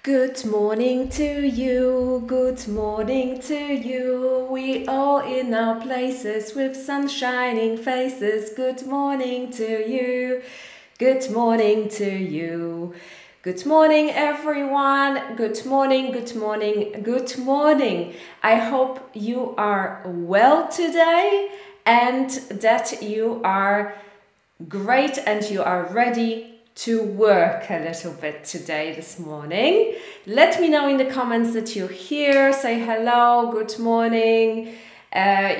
Good morning to you, good morning to you. We all in our places with sun shining faces. Good morning to you, good morning to you. Good morning, everyone. Good morning, good morning, good morning. I hope you are well today and that you are great and you are ready to work a little bit today, this morning. Let me know in the comments that you're here. Say hello, good morning. Let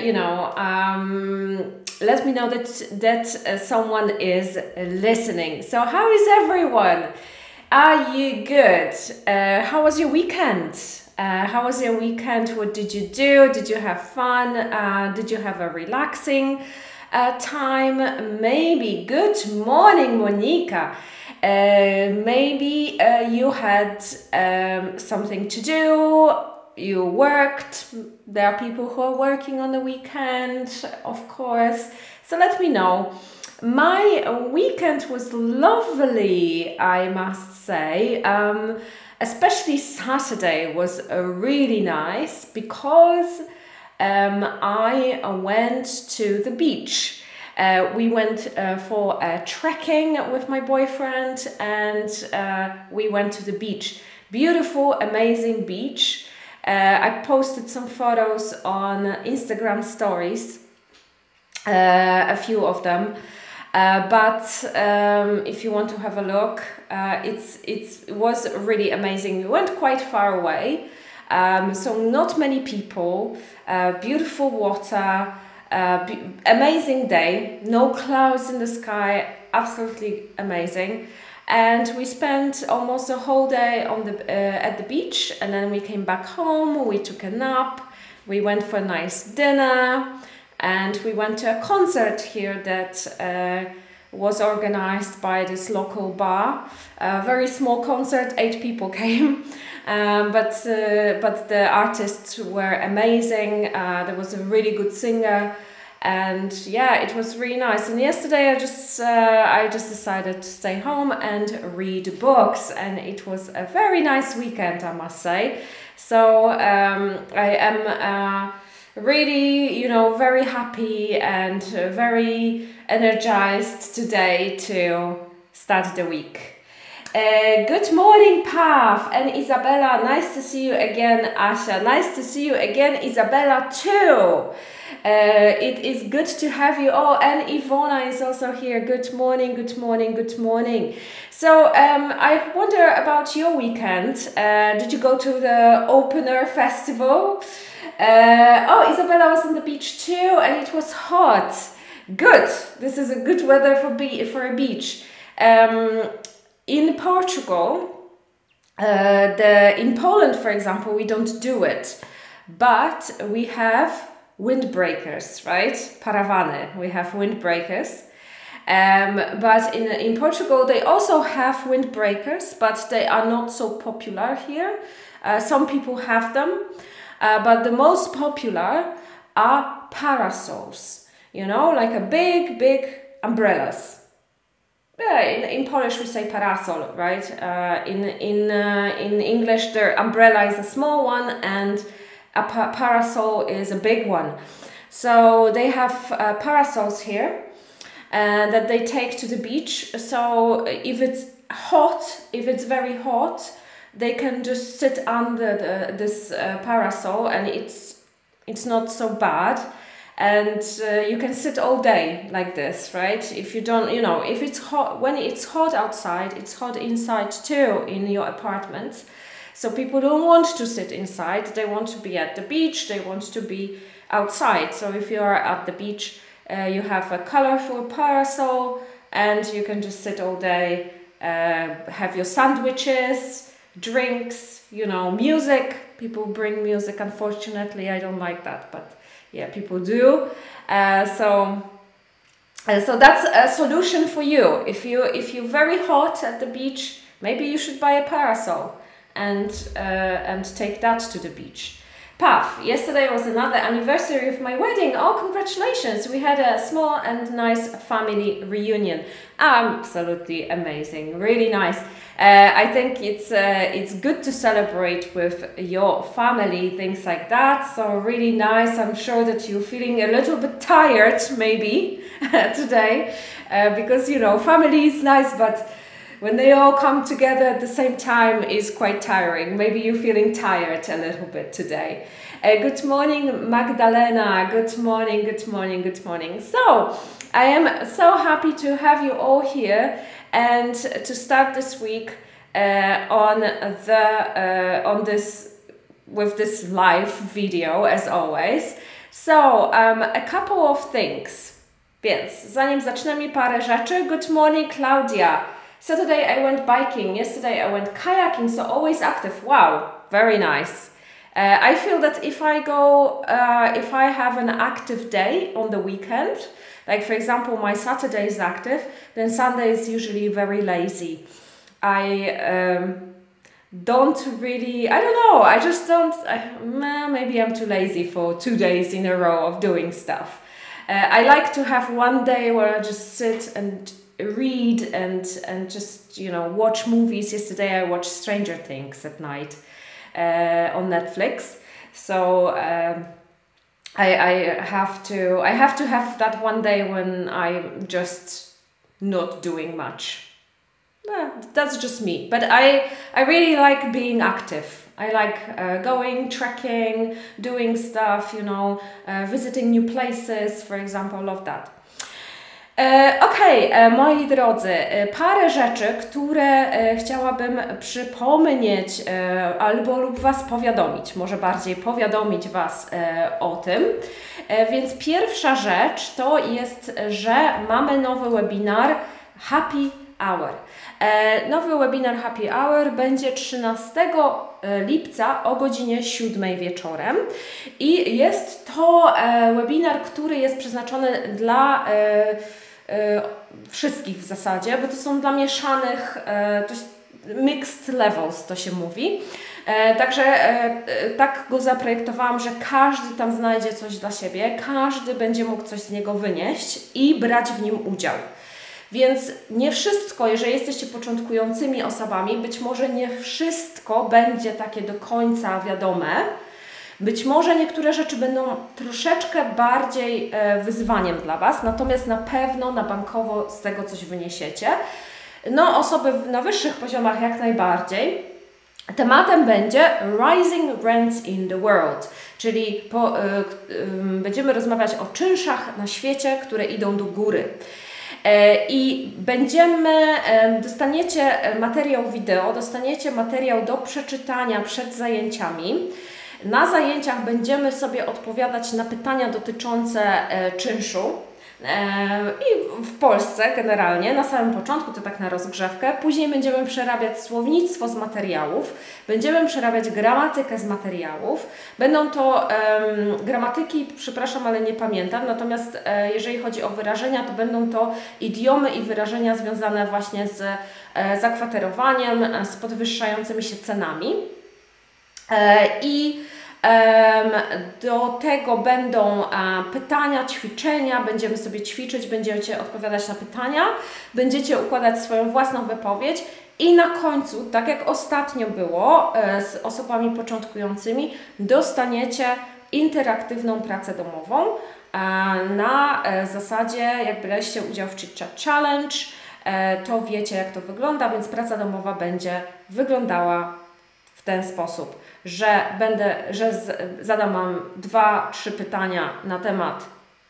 me know that someone is listening. So how is everyone? Are you good? How was your weekend? How was your weekend? What did you do? Did you have fun? Did you have a relaxing time? Maybe. Good morning, Monica. Maybe you had something to do. You worked. There are people who are working on the weekend, of course. So let me know. My weekend was lovely, I must say. Especially Saturday was really nice because I went to the beach. We went for trekking with my boyfriend and we went to the beach. Beautiful, amazing beach. I posted some photos on Instagram stories, a few of them. But if you want to have a look, it was really amazing. We went quite far away, so not many people, beautiful water, amazing day, no clouds in the sky, absolutely amazing. And we spent almost a whole day on the at the beach, and then we came back home, we took a nap, we went for a nice dinner, and we went to a concert here that was organized by this local bar. A very small concert, 8 people came, but the artists were amazing. There was a really good singer, and yeah, it was really nice. And yesterday I just decided to stay home and read books, and it was a very nice weekend, I must say. So I am really, very happy and very energized today to start the week. Good morning, Pav and Isabella. Nice to see you again, Asha. Nice to see you again, Isabella, too. It is good to have you all. And Ivona is also here. Good morning, good morning, good morning. So I wonder about your weekend. Did you go to the Opener Festival? Isabella was on the beach too, and it was hot. Good. This is a good weather for a beach. In Portugal, in Poland, for example, we don't do it, but we have windbreakers, right? Paravany. We have windbreakers. But in Portugal, they also have windbreakers, but they are not so popular here. Some people have them. But the most popular are parasols, like a big umbrellas. Yeah, in Polish we say parasol, right? In English, the umbrella is a small one and a parasol is a big one. So they have parasols here that they take to the beach. So if it's very hot, they can just sit under this parasol, and it's not so bad, and you can sit all day like this, right? If you don't, if it's hot, when it's hot outside, it's hot inside too in your apartment. So people don't want to sit inside; they want to be at the beach. They want to be outside. So if you are at the beach, you have a colorful parasol, and you can just sit all day, have your sandwiches, drinks, music. People bring music. Unfortunately, I don't like that, but yeah, people do. So that's a solution for you. If you're very hot at the beach, maybe you should buy a parasol and take that to the beach. Puff, yesterday was another anniversary of my wedding. Oh, congratulations! We had a small and nice family reunion. Absolutely amazing, really nice. I think it's good to celebrate with your family, things like that. So really nice. I'm sure that you're feeling a little bit tired maybe today because, you know, family is nice, but when they all come together at the same time is quite tiring. Maybe you're feeling tired a little bit today. Good morning, Magdalena. Good morning, good morning, good morning. So, I am so happy to have you all here and to start this week with this live video as always. So, a couple of things. Więc zanim zaczniemy, parę rzeczy. Good morning, Claudia. Saturday I went biking, yesterday I went kayaking, so always active. Wow, very nice. I feel that if I have an active day on the weekend, like for example my Saturday is active, then Sunday is usually very lazy. I don't really, I don't know, I just don't, maybe I'm too lazy for 2 days in a row of doing stuff. I like to have one day where I just sit and read and just, you know, watch movies. Yesterday I watched Stranger Things at night on Netflix. So I have to have that one day when I'm just not doing much. That's just me. But I really like being active. I like going, trekking, doing stuff, you know, visiting new places, for example, love that. Moi drodzy, parę rzeczy, które chciałabym przypomnieć albo lub Was powiadomić, może bardziej powiadomić Was o tym. Więc pierwsza rzecz to jest, że mamy nowy webinar Happy Hour. Nowy webinar Happy Hour będzie 13 lipca o godzinie 7 wieczorem i jest to webinar, który jest przeznaczony dla wszystkich w zasadzie, bo to są dla mieszanych, mixed levels to się mówi. Także tak go zaprojektowałam, że każdy tam znajdzie coś dla siebie, każdy będzie mógł coś z niego wynieść i brać w nim udział. Więc nie wszystko, jeżeli jesteście początkującymi osobami, być może nie wszystko będzie takie do końca wiadome. Być może niektóre rzeczy będą troszeczkę bardziej wyzwaniem dla Was, natomiast na pewno na bankowo z tego coś wyniesiecie. No, osoby na wyższych poziomach jak najbardziej. Tematem będzie Rising Rents in the World, czyli będziemy rozmawiać o czynszach na świecie, które idą do góry. I dostaniecie materiał wideo, dostaniecie materiał do przeczytania przed zajęciami. Na zajęciach będziemy sobie odpowiadać na pytania dotyczące czynszu i w Polsce generalnie, na samym początku to tak na rozgrzewkę, później będziemy przerabiać słownictwo z materiałów, będziemy przerabiać gramatykę z materiałów, będą to gramatyki, przepraszam, ale nie pamiętam, natomiast jeżeli chodzi o wyrażenia, to będą to idiomy i wyrażenia związane właśnie z zakwaterowaniem, z podwyższającymi się cenami. Do tego będą pytania, ćwiczenia, będziemy sobie ćwiczyć, będziecie odpowiadać na pytania, będziecie układać swoją własną wypowiedź i na końcu, tak jak ostatnio było z osobami początkującymi, dostaniecie interaktywną pracę domową na zasadzie, jak braliście udział w Chit Chat Challenge, to wiecie jak to wygląda, więc praca domowa będzie wyglądała w ten sposób, że zadam Wam 2-3 pytania na temat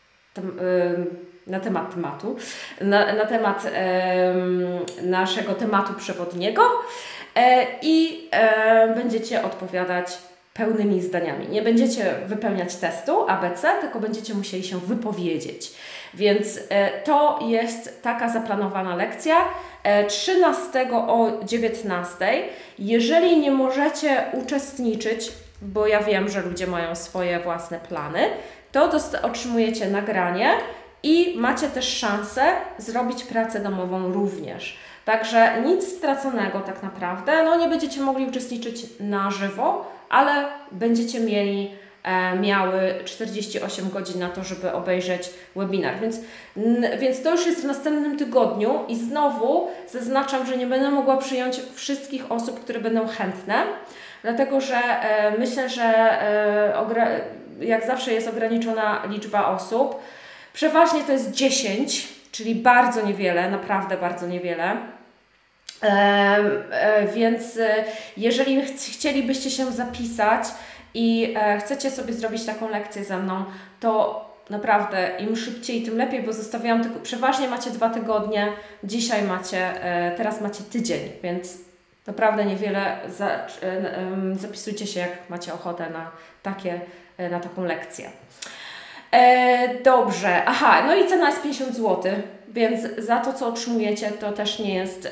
naszego tematu przewodniego i będziecie odpowiadać pełnymi zdaniami. Nie będziecie wypełniać testu ABC, tylko będziecie musieli się wypowiedzieć. Więc to jest taka zaplanowana lekcja 13 o 19. Jeżeli nie możecie uczestniczyć, bo ja wiem, że ludzie mają swoje własne plany, to otrzymujecie nagranie i macie też szansę zrobić pracę domową również. Także nic straconego tak naprawdę. No nie będziecie mogli uczestniczyć na żywo, ale będziecie miały 48 godzin na to, żeby obejrzeć webinar. Więc to już jest w następnym tygodniu i znowu zaznaczam, że nie będę mogła przyjąć wszystkich osób, które będą chętne, dlatego że myślę, że jak zawsze jest ograniczona liczba osób. Przeważnie to jest 10, czyli bardzo niewiele, naprawdę bardzo niewiele. Więc jeżeli chcielibyście się zapisać i chcecie sobie zrobić taką lekcję ze mną, to naprawdę im szybciej, tym lepiej, bo zostawiałam tylko, przeważnie macie 2 tygodnie, teraz macie tydzień, więc naprawdę niewiele. Zapisujcie się, jak macie ochotę na taką lekcję. Dobrze, no i cena jest 50 zł, więc za to, co otrzymujecie, to też nie jest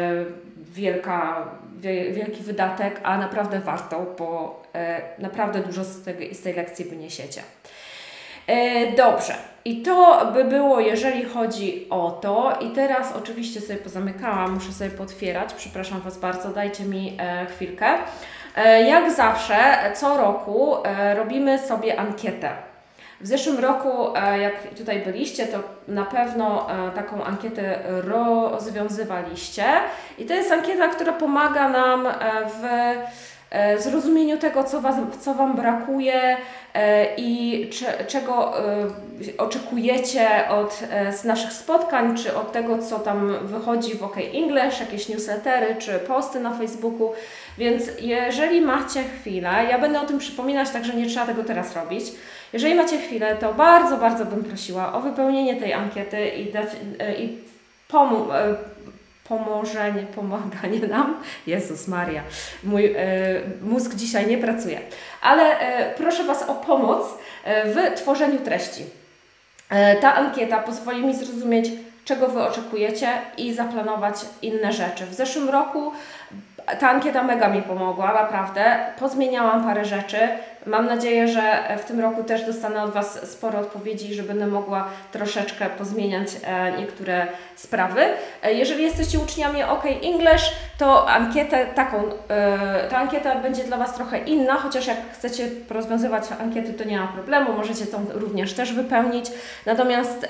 wielki wydatek, a naprawdę warto, bo naprawdę dużo z tej lekcji wyniesiecie. Dobrze, i to by było, jeżeli chodzi o to. I teraz oczywiście sobie pozamykałam, muszę sobie pootwierać, przepraszam Was bardzo, dajcie mi chwilkę. Jak zawsze, co roku robimy sobie ankietę. W zeszłym roku, jak tutaj byliście, to na pewno taką ankietę rozwiązywaliście. I to jest ankieta, która pomaga nam w zrozumieniu tego, co Wam brakuje i czego oczekujecie z naszych spotkań, czy od tego, co tam wychodzi w OK English, jakieś newslettery, czy posty na Facebooku. Więc jeżeli macie chwilę, ja będę o tym przypominać, także nie trzeba tego teraz robić. Jeżeli macie chwilę, to bardzo, bardzo bym prosiła o wypełnienie tej ankiety i pomaganie nam. Jezus Maria, mój mózg dzisiaj nie pracuje. Ale proszę Was o pomoc w tworzeniu treści. Ta ankieta pozwoli mi zrozumieć, czego Wy oczekujecie i zaplanować inne rzeczy. W zeszłym roku ta ankieta mega mi pomogła, naprawdę. Pozmieniałam parę rzeczy. Mam nadzieję, że w tym roku też dostanę od Was sporo odpowiedzi, że będę mogła troszeczkę pozmieniać niektóre sprawy. Jeżeli jesteście uczniami OK English, to ta ankieta będzie dla Was trochę inna, chociaż jak chcecie porozwiązywać ankiety, to nie ma problemu, możecie tą również też wypełnić. Natomiast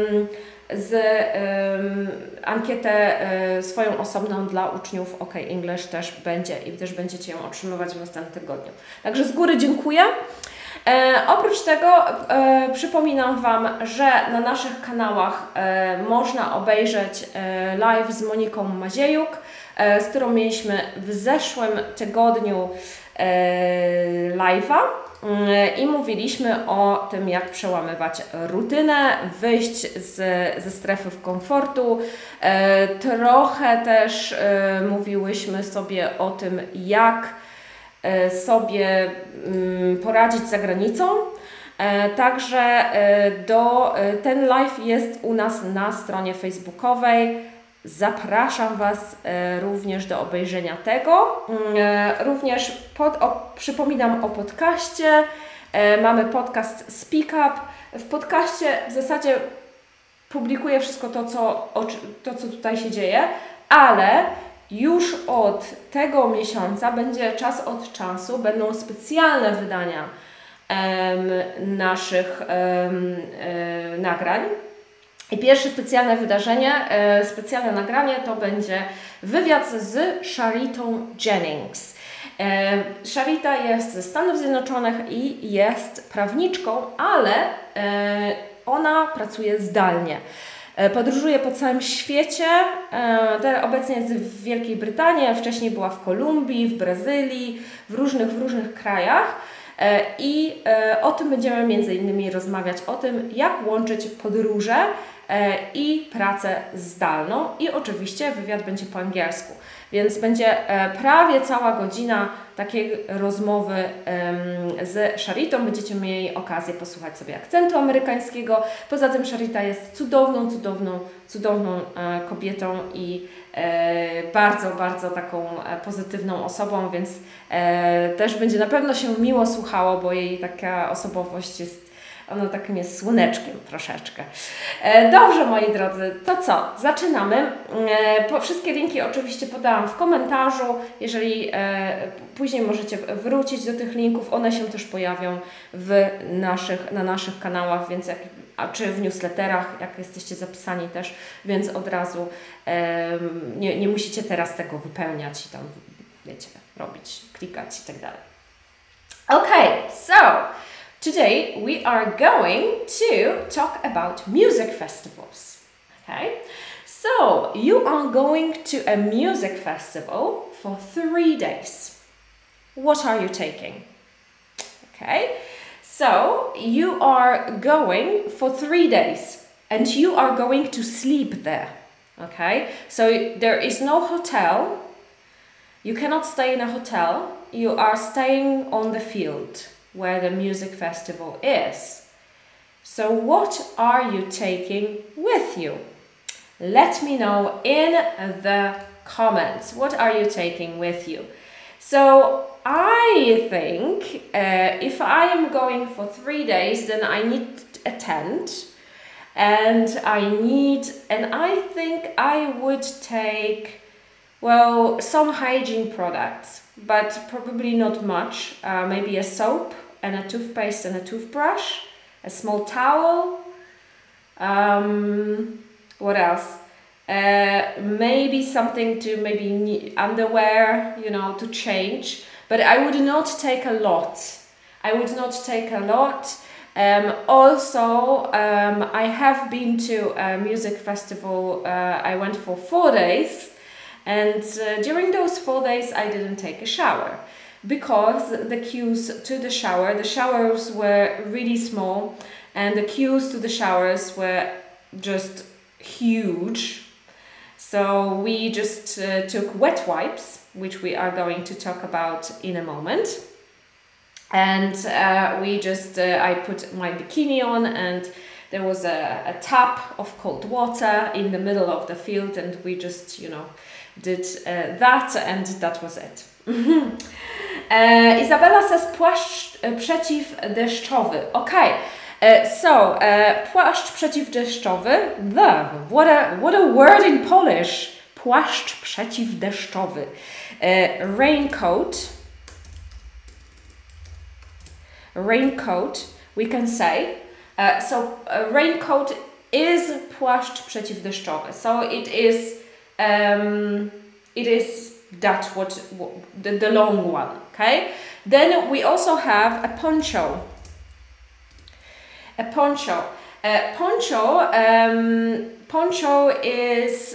ankietę swoją osobną dla uczniów OK English też będzie i też będziecie ją otrzymywać w następnym tygodniu. Także z góry dziękuję. Oprócz tego przypominam Wam, że na naszych kanałach można obejrzeć live z Moniką Maziejuk, z którą mieliśmy w zeszłym tygodniu live'a. I mówiliśmy o tym, jak przełamywać rutynę, wyjść ze strefy komfortu. Trochę też mówiłyśmy sobie o tym, jak sobie poradzić za granicą. Także ten live jest u nas na stronie facebookowej. Zapraszam Was również do obejrzenia tego. Również przypominam o podcaście. Mamy podcast Speak Up. W podcaście w zasadzie publikuję wszystko to, co tutaj się dzieje, ale już od tego miesiąca czas od czasu będą specjalne wydania naszych nagrań. I pierwsze specjalne nagranie to będzie wywiad z Sharitą Jennings. Sharita jest ze Stanów Zjednoczonych i jest prawniczką, ale ona pracuje zdalnie. Podróżuje po całym świecie, obecnie jest w Wielkiej Brytanii, a wcześniej była w Kolumbii, w Brazylii, w różnych krajach. I o tym będziemy między innymi rozmawiać, o tym, jak łączyć podróże i pracę zdalną. I oczywiście wywiad będzie po angielsku, więc będzie prawie cała godzina takiej rozmowy z Sharitą. Będziecie mieli okazję posłuchać sobie akcentu amerykańskiego. Poza tym Sharita jest cudowną kobietą i bardzo, bardzo taką pozytywną osobą, więc też będzie na pewno się miło słuchało, bo jej taka osobowość jest Ono takim jest słoneczkiem troszeczkę. Dobrze, moi drodzy, to co? Zaczynamy. Wszystkie linki oczywiście podałam w komentarzu. Jeżeli później możecie wrócić do tych linków, one się też pojawią na naszych kanałach, więc czy w newsletterach, jak jesteście zapisani też, więc od razu nie musicie teraz tego wypełniać i tam, wiecie, robić, klikać i tak dalej. Okay, so today we are going to talk about music festivals. Okay, so you are going to a music festival for 3 days. What are you taking? Okay, so you are going for 3 days and you are going to sleep there. Okay, so there is no hotel. You cannot stay in a hotel. You are staying on the field where the music festival is. So what are you taking with you? Let me know in the comments. What are you taking with you? So I think if I am going for 3 days, then I need a tent. And I think I would take, well, some hygiene products, but probably not much. Maybe a soap and a toothpaste and a toothbrush, a small towel. What else? Maybe something to underwear, you know, to change. But I would not take a lot. I have been to a music festival. I went for 4 days, and during those 4 days I didn't take a shower because the queues to the showers were really small, and the queues to the showers were just huge. So we just took wet wipes, which we are going to talk about in a moment. And I put my bikini on, and there was a tap of cold water in the middle of the field, and we just, you know, did that, and that was it. Isabella says płaszcz przeciwdeszczowy. Okay, so płaszcz przeciwdeszczowy. What a word in Polish. Płaszcz przeciwdeszczowy. Raincoat, we can say. Raincoat is płaszcz przeciwdeszczowy. So it is that the long one. Okay. Then we also have a poncho. Poncho is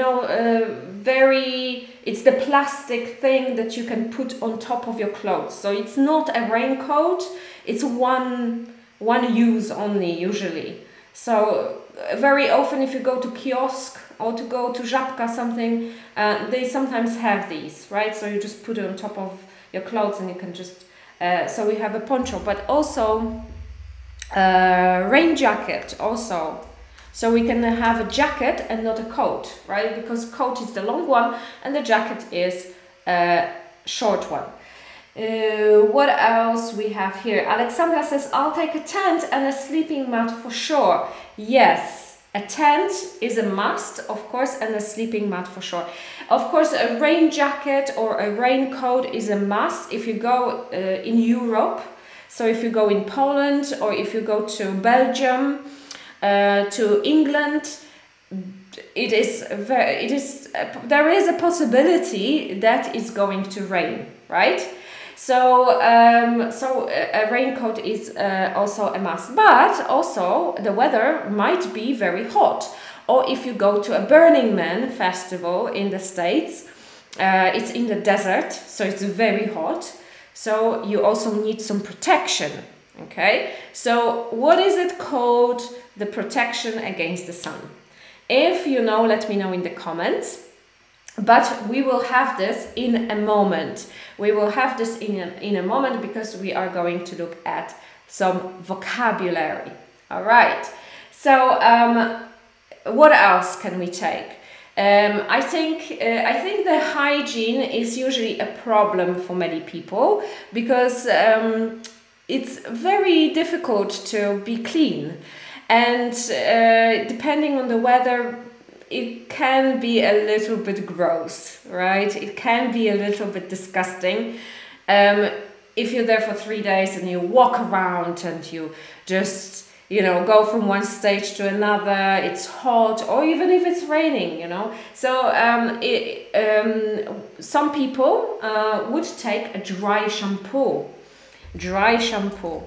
it's the plastic thing that you can put on top of your clothes. So it's not a raincoat. It's one use only usually. So very often if you go to kiosk or to go to Żabka something, they sometimes have these, right? So you just put it on top of your clothes and you can just, so we have a poncho, but also rain jacket also. So we can have a jacket and not a coat, right? Because coat is the long one and the jacket is a short one. What else we have here? Alexandra says, I'll take a tent and a sleeping mat for sure. Yes, a tent is a must, of course, and a sleeping mat for sure. Of course, a rain jacket or a raincoat is a must if you go in Europe. So if you go in Poland or if you go to Belgium, to England, there is a possibility that it's going to rain, right? So a raincoat is also a must, but also the weather might be very hot. Or if you go to a Burning Man festival in the States, it's in the desert, so it's very hot. So you also need some protection. Okay, so what is it called? The protection against the sun. If you know, let me know in the comments. But we will have this in a moment. We will have this in a moment because we are going to look at some vocabulary. All right. So what else can we take? I think the hygiene is usually a problem for many people because it's very difficult to be clean, and depending on the weather, it can be a little bit gross, right? It can be a little bit disgusting. If you're there for 3 days and you walk around and you just, you know, go from one stage to another, it's hot, or even if it's raining, you know. So some people would take a dry shampoo. Dry shampoo.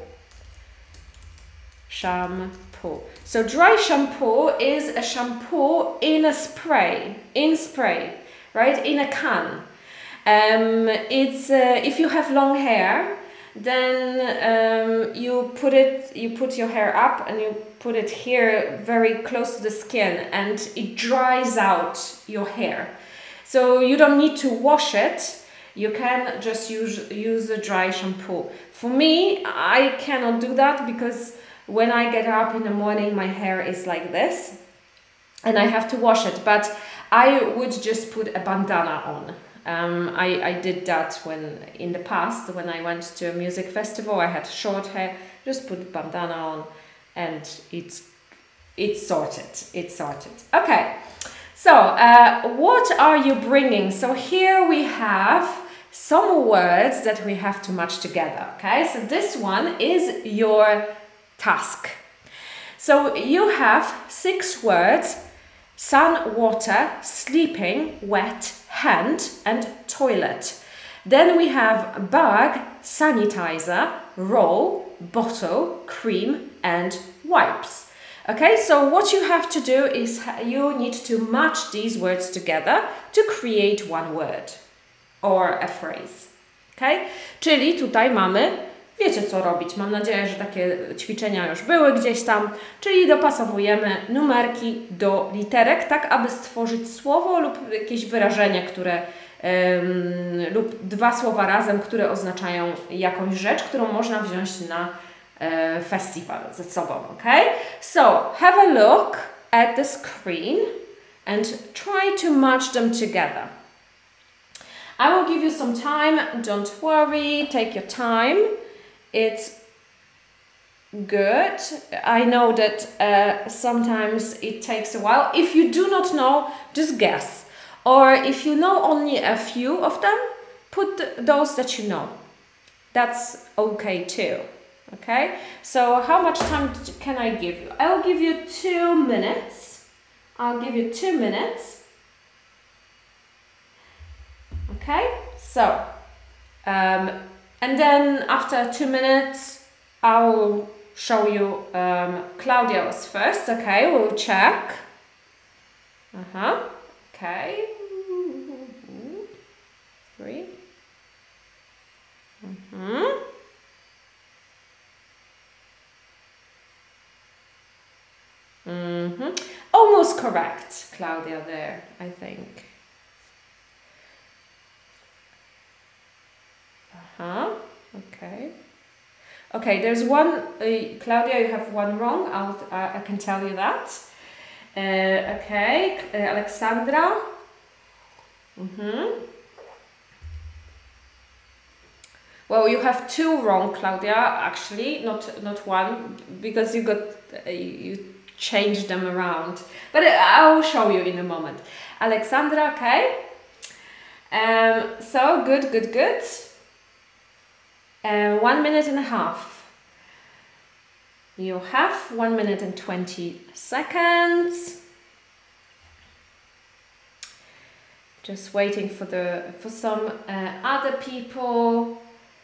Shampoo. So dry shampoo is a shampoo in a spray, right? In a can. It's if you have long hair, then you put your hair up and you put it here very close to the skin, and it dries out your hair. So you don't need to wash it. You can just use a dry shampoo. For me, I cannot do that because when I get up in the morning, my hair is like this and I have to wash it. But I would just put a bandana on. I did that in the past when I went to a music festival. I had short hair, just put bandana on, and it's sorted. It's sorted. Okay, so what are you bringing? So here we have some words that we have to match together. Okay, so this one is your task. So you have 6 words: sun, water, sleeping, wet, hand, and toilet. Then we have bag, sanitizer, roll, bottle, cream, and wipes. Okay, so what you have to do is you need to match these words together to create one word or a phrase. Okay, czyli tutaj mamy, wiecie co robić. Mam nadzieję, że takie ćwiczenia już były gdzieś tam, czyli dopasowujemy numerki do literek, tak aby stworzyć słowo lub jakieś wyrażenie, które lub 2 słowa razem, które oznaczają jakąś rzecz, którą można wziąć na festiwal ze sobą, okay? So, have a look at the screen and try to match them together. I will give you some time, don't worry, take your time. It's good. I know that sometimes it takes a while. If you do not know, just guess. Or if you know only a few of them, put those that you know. That's okay too. Okay? So how much time can I give you? I'll give you 2 minutes. I'll give you 2 minutes. Okay? So, and then after 2 minutes, I will show you Claudia's first. Okay, we'll check. Okay. 3. Almost correct, Claudia, there, I think. Okay. Okay, there's one, Claudia, you have one wrong. I can tell you that. Okay, Alexandra. Well, you have 2 wrong, Claudia. Actually, not one, because you got you changed them around. But I will show you in a moment. Alexandra, okay. So good. 1 minute and a half. You have 1 minute and 20 seconds. Just waiting for some other people.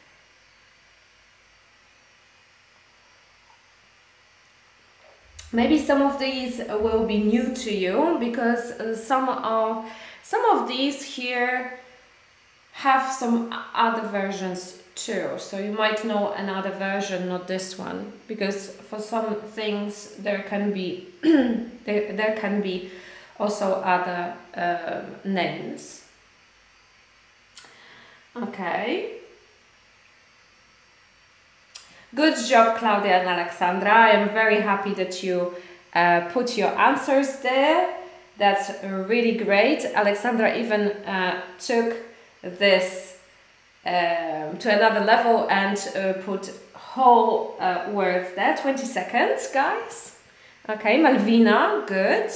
Maybe some of these will be new to you, because some of these here have some other versions too. So you might know another version, not this one, because for some things there can be there can be also other names. Okay. Good job, Claudia and Alexandra. I am very happy that you put your answers there. That's really great. Alexandra even took this to another level and put whole words there. 20 seconds, guys. Okay, Malvina, good.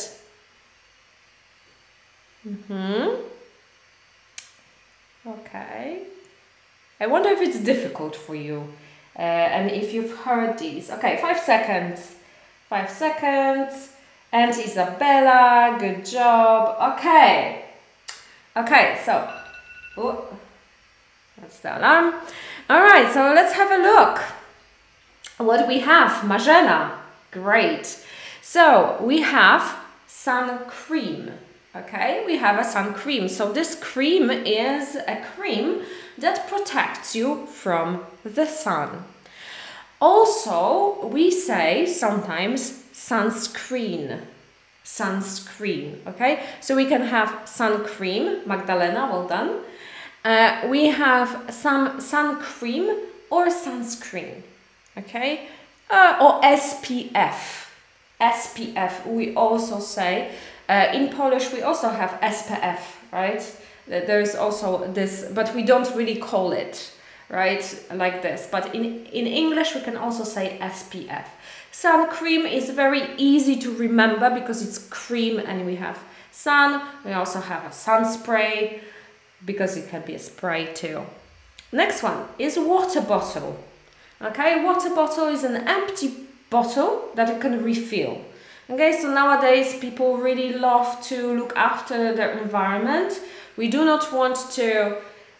Okay. I wonder if it's difficult for you and if you've heard these. Okay, 5 seconds. 5 seconds. And Isabella, good job. Okay. Okay, so, oh, that's the alarm. All right, so let's have a look. What we have, Marzena, great. So we have sun cream. Okay, we have a sun cream. So this cream is a cream that protects you from the sun. Also, we say sometimes sunscreen. Sunscreen, okay? So we can have sun cream, Magdalena, well done. We have some sun cream or sunscreen, okay? Or SPF. SPF, we also say. In Polish, we also have SPF, right? There's also this, but we don't really call it, right, like this. But in English, we can also say SPF. Sun cream is very easy to remember because it's cream and we have sun. We also have a sun spray because it can be a spray too. Next one is water bottle. Okay, water bottle is an empty bottle that you can refill. Okay, so nowadays people really love to look after their environment. We do not want to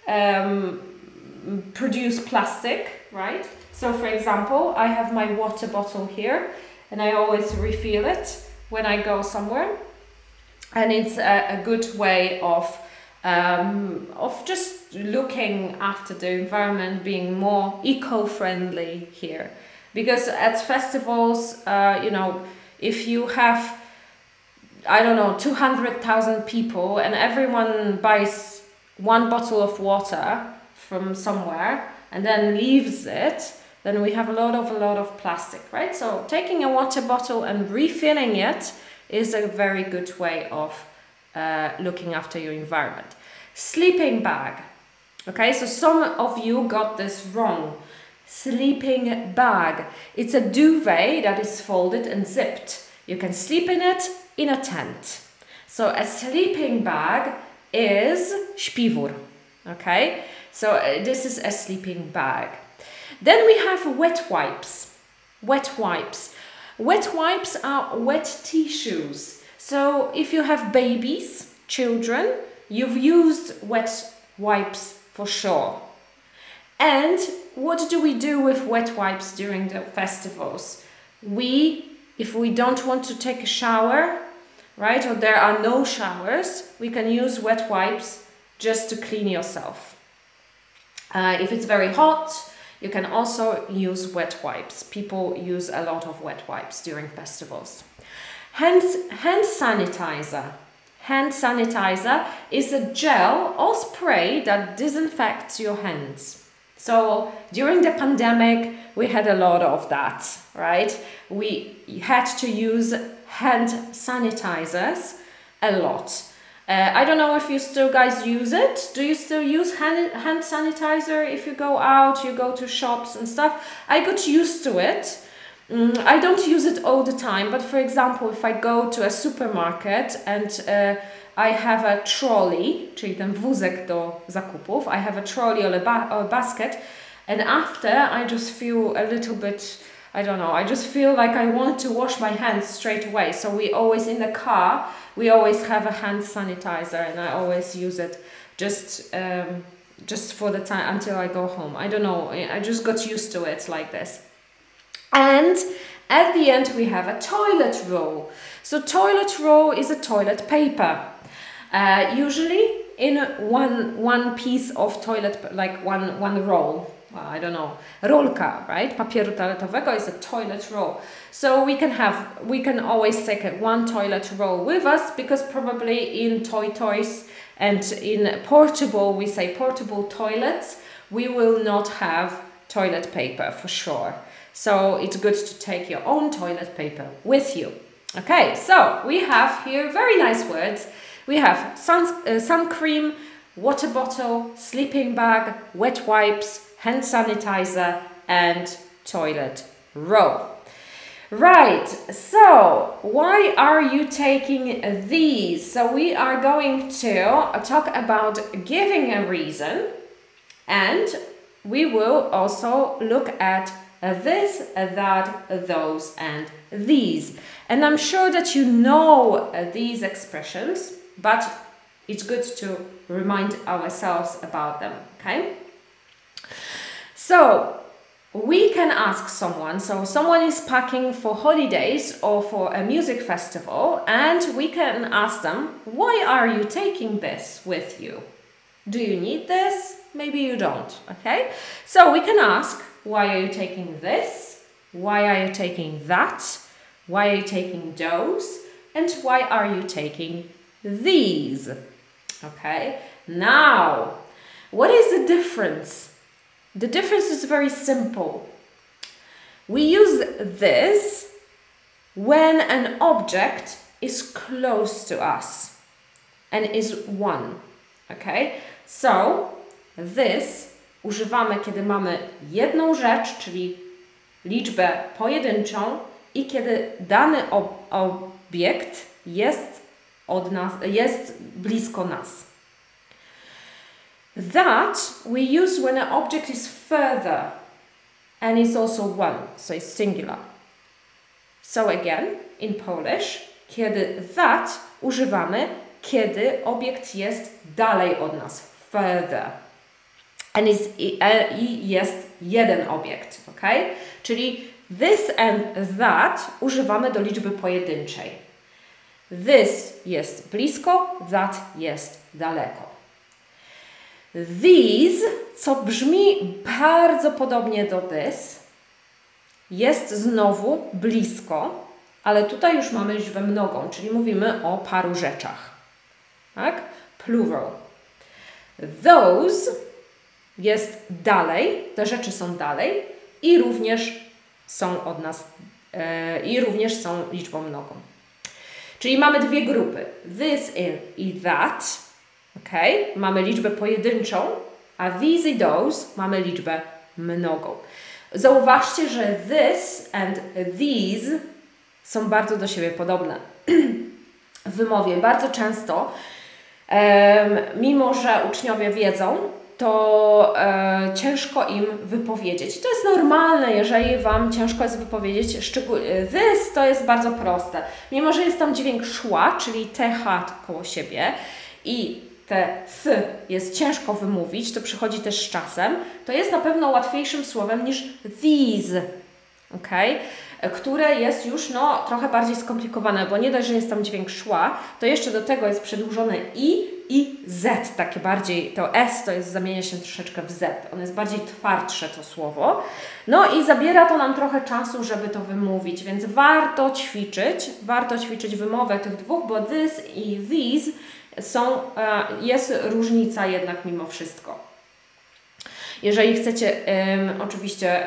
produce plastic, right? So for example, I have my water bottle here and I always refill it when I go somewhere. And it's a good way of just looking after the environment, being more eco-friendly here. Because at festivals, you know, if you have, I don't know, 200,000 people and everyone buys one bottle of water from somewhere and then leaves it, then we have a lot of plastic, right? So taking a water bottle and refilling it is a very good way of looking after your environment. Sleeping bag. Okay, so some of you got this wrong. Sleeping bag. It's a duvet that is folded and zipped. You can sleep in it in a tent. So a sleeping bag is śpiwór. Okay, so this is a sleeping bag. Then we have wet wipes. Wet wipes. Wet wipes are wet tissues. So if you have babies, children, you've used wet wipes for sure. And what do we do with wet wipes during the festivals? If we don't want to take a shower, right, or there are no showers, we can use wet wipes just to clean yourself. If it's very hot, you can also use wet wipes. People use a lot of wet wipes during festivals. Hand sanitizer. Hand sanitizer is a gel or spray that disinfects your hands. So during the pandemic, we had a lot of that, right? We had to use hand sanitizers a lot. I don't know if you still guys use it. Do you still use hand sanitizer if you go out, you go to shops and stuff? I got used to it. I don't use it all the time, but for example, if I go to a supermarket and I have a trolley, czyli ten wózek do zakupów, I have a trolley or a basket, and after I just feel a little bit, I don't know, I just feel like I want to wash my hands straight away. So we always, in the car, we always have a hand sanitizer and I always use it just for the time until I go home. I don't know, I just got used to it like this. And at the end we have a toilet roll. So toilet roll is a toilet paper. Usually in one piece of toilet, like one roll. Well, I don't know, rolka, right? Papieru toaletowego is a toilet roll. So we can always take one toilet roll with us, because probably in toys and in portable, we say portable toilets, we will not have toilet paper for sure. So it's good to take your own toilet paper with you. Okay, so we have here very nice words. We have sun cream, water bottle, sleeping bag, wet wipes, hand sanitizer and toilet roll. Right, so why are you taking these? So we are going to talk about giving a reason, and we will also look at this, that, those, and these. And I'm sure that you know these expressions, but it's good to remind ourselves about them, okay? So we can ask someone, so someone is packing for holidays or for a music festival, and we can ask them, why are you taking this with you? Do you need this? Maybe you don't, okay? So we can ask, why are you taking this? Why are you taking that? Why are you taking those? And why are you taking these? Okay, now, what is the difference? The difference is very simple. We use this when an object is close to us and is one. Okay? So, this używamy, kiedy mamy jedną rzecz, czyli liczbę pojedynczą i kiedy dany obiekt jest blisko nas. That we use when an object is further and is also one, so it's singular. So again, in Polish, kiedy that używamy, kiedy obiekt jest dalej od nas, further. And jest jeden obiekt, ok? Czyli this and that używamy do liczby pojedynczej. This jest blisko, that jest daleko. These, co brzmi bardzo podobnie do this, jest znowu blisko, ale tutaj już mamy liczbę mnogą, czyli mówimy o paru rzeczach. Tak? Plural. Those jest dalej, te rzeczy są dalej i również są od nas, i również są liczbą mnogą. Czyli mamy dwie grupy. This i that. Okay? Mamy liczbę pojedynczą, a these i those mamy liczbę mnogą. Zauważcie, że this and these są bardzo do siebie podobne. W wymowie bardzo często, mimo że uczniowie wiedzą, to ciężko im wypowiedzieć. To jest normalne, jeżeli Wam ciężko jest wypowiedzieć. This to jest bardzo proste. Mimo że jest tam dźwięk szła, czyli th koło siebie i te th jest ciężko wymówić, to przychodzi też z czasem, to jest na pewno łatwiejszym słowem niż these, okay? Które jest już trochę bardziej skomplikowane, bo nie dość, że jest tam dźwięk szła, to jeszcze do tego jest przedłużone i z, takie bardziej, to s to jest, zamienia się troszeczkę w z, ono jest bardziej twardsze to słowo, i zabiera to nam trochę czasu, żeby to wymówić, więc warto ćwiczyć wymowę tych dwóch, bo this i these jest różnica jednak mimo wszystko. Jeżeli chcecie oczywiście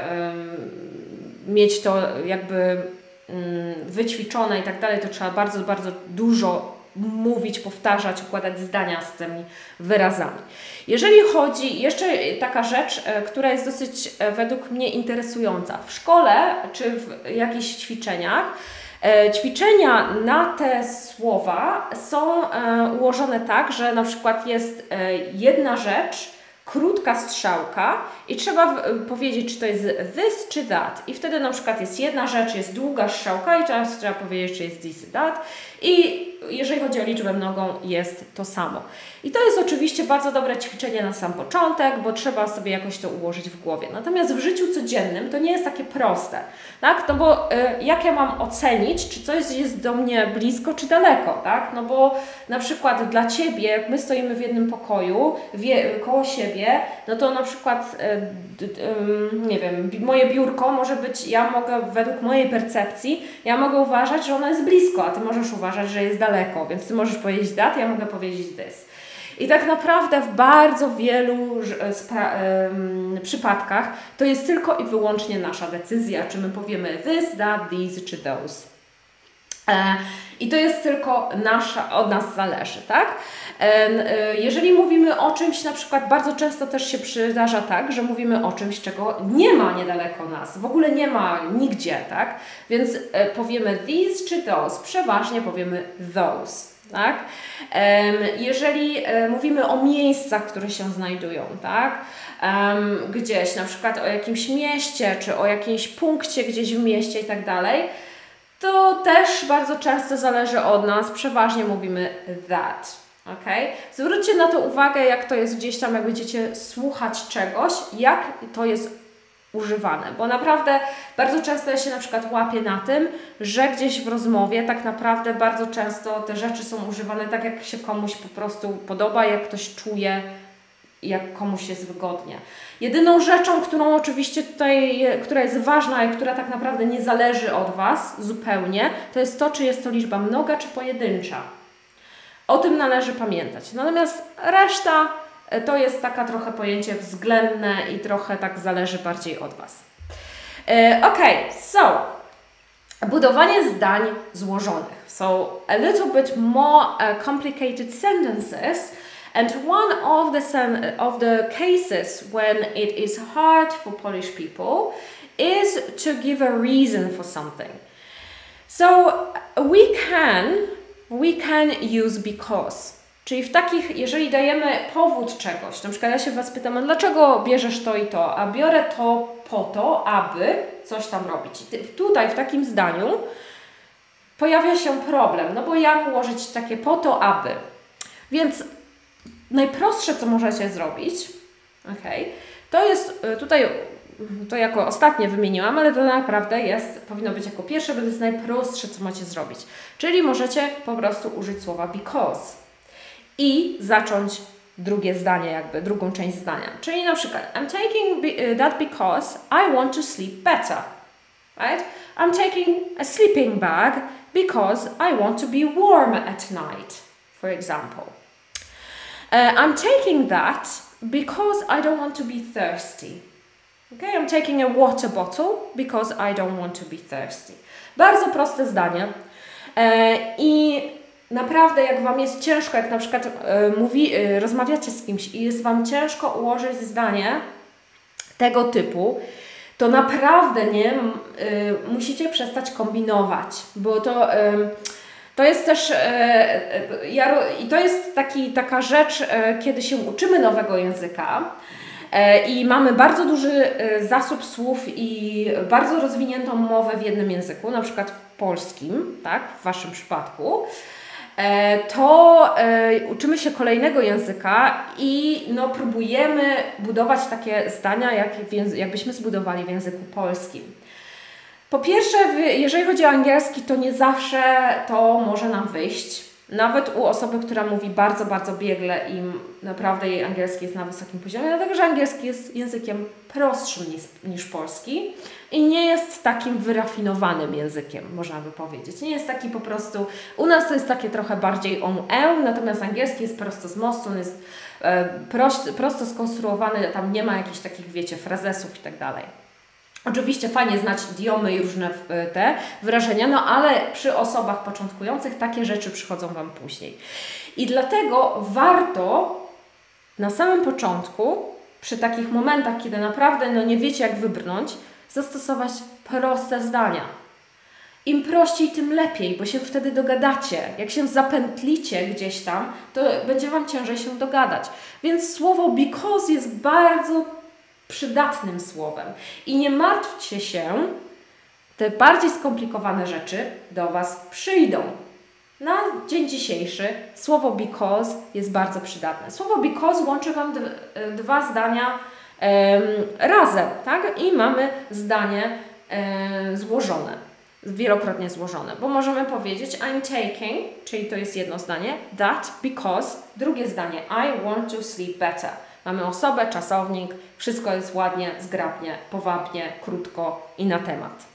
mieć to jakby wyćwiczone i tak dalej, to trzeba bardzo, bardzo dużo mówić, powtarzać, układać zdania z tymi wyrazami. Jeżeli chodzi, jeszcze taka rzecz, która jest dosyć według mnie interesująca. W szkole czy w jakichś ćwiczeniach ćwiczenia na te słowa są ułożone tak, że na przykład jest jedna rzecz, krótka strzałka i trzeba powiedzieć, czy to jest this, czy that. I wtedy na przykład jest jedna rzecz, jest długa strzałka i teraz trzeba powiedzieć, czy jest this, that. I jeżeli chodzi o liczbę mnogą, jest to samo. I to jest oczywiście bardzo dobre ćwiczenie na sam początek, bo trzeba sobie jakoś to ułożyć w głowie. Natomiast w życiu codziennym to nie jest takie proste. Tak? No bo jak ja mam ocenić, czy coś jest do mnie blisko, czy daleko? Tak? No bo na przykład dla Ciebie, jak my stoimy w jednym pokoju, koło siebie, no to na przykład nie wiem, moje biurko może być, ja mogę według mojej percepcji, ja mogę uważać, że ono jest blisko, a Ty możesz uważać, że jest daleko, więc Ty możesz powiedzieć that, ja mogę powiedzieć this. I tak naprawdę w bardzo wielu przypadkach to jest tylko i wyłącznie nasza decyzja, czy my powiemy this, that, these, czy those. I to jest tylko od nas zależy, tak? Jeżeli mówimy o czymś, na przykład bardzo często też się przydarza tak, że mówimy o czymś, czego nie ma niedaleko nas, w ogóle nie ma nigdzie, tak? Więc powiemy these czy those, przeważnie powiemy those. Tak? Jeżeli mówimy o miejscach, które się znajdują, tak? Gdzieś, na przykład o jakimś mieście, czy o jakimś punkcie gdzieś w mieście i tak dalej, to też bardzo często zależy od nas, przeważnie mówimy that. Okay? Zwróćcie na to uwagę, jak to jest gdzieś tam, jak będziecie słuchać czegoś, jak to jest używane, bo naprawdę bardzo często ja się na przykład łapię na tym, że gdzieś w rozmowie tak naprawdę bardzo często te rzeczy są używane tak, jak się komuś po prostu podoba, jak ktoś czuje, jak komuś jest wygodnie. Jedyną rzeczą, którą oczywiście tutaj, która jest ważna i która tak naprawdę nie zależy od Was zupełnie, to jest to, czy jest to liczba mnoga, czy pojedyncza. O tym należy pamiętać. Natomiast reszta to jest taka trochę pojęcie względne i trochę tak zależy bardziej od Was. So budowanie zdań złożonych. So a little bit more complicated sentences. And one of the cases when it is hard for Polish people is to give a reason for something. So we can use because. Czyli w takich, jeżeli dajemy powód czegoś, na przykład ja się Was pytam, a dlaczego bierzesz to i to, a biorę to po to, aby coś tam robić. Tutaj w takim zdaniu pojawia się problem, no bo jak ułożyć takie po to, aby. Więc najprostsze, co możecie zrobić, to jest tutaj, to jako ostatnie wymieniłam, ale to naprawdę powinno być jako pierwsze, bo to jest najprostsze, co macie zrobić. Czyli możecie po prostu użyć słowa because i zacząć drugie zdanie, drugą część zdania. Czyli na przykład I'm taking that because I want to sleep better. Right? I'm taking a sleeping bag because I want to be warm at night, for example. I'm taking that because I don't want to be thirsty. Okay? I'm taking a water bottle because I don't want to be thirsty. Bardzo proste zdanie. I naprawdę jak Wam jest ciężko, jak na przykład rozmawiacie z kimś i jest Wam ciężko ułożyć zdanie tego typu, to naprawdę musicie przestać kombinować, bo to jest też i to jest taka rzecz, kiedy się uczymy nowego języka i mamy bardzo duży zasób słów i bardzo rozwiniętą mowę w jednym języku, na przykład w polskim, tak, w Waszym przypadku, to uczymy się kolejnego języka i próbujemy budować takie zdania, jakbyśmy zbudowali w języku polskim. Po pierwsze, jeżeli chodzi o angielski, to nie zawsze to może nam wyjść. Nawet u osoby, która mówi bardzo, bardzo biegle i naprawdę jej angielski jest na wysokim poziomie, dlatego że angielski jest językiem prostszym niż polski i nie jest takim wyrafinowanym językiem, można by powiedzieć. Nie jest taki po prostu, u nas to jest takie trochę bardziej natomiast angielski jest prosto z mostu, on jest prosto skonstruowany, tam nie ma jakichś takich, wiecie, frazesów i tak dalej. Oczywiście fajnie znać idiomy i różne te wyrażenia, ale przy osobach początkujących takie rzeczy przychodzą Wam później. I dlatego warto na samym początku, przy takich momentach, kiedy naprawdę nie wiecie jak wybrnąć, zastosować proste zdania. Im prościej, tym lepiej, bo się wtedy dogadacie. Jak się zapętlicie gdzieś tam, to będzie Wam ciężej się dogadać. Więc słowo because jest bardzo przydatnym słowem. I nie martwcie się, te bardziej skomplikowane rzeczy do Was przyjdą. Na dzień dzisiejszy słowo because jest bardzo przydatne. Słowo because łączy Wam dwa zdania razem, tak? I mamy zdanie złożone, wielokrotnie złożone, bo możemy powiedzieć I'm taking, czyli to jest jedno zdanie, that because, drugie zdanie I want to sleep better. Mamy osobę, czasownik, wszystko jest ładnie, zgrabnie, powabnie, krótko i na temat.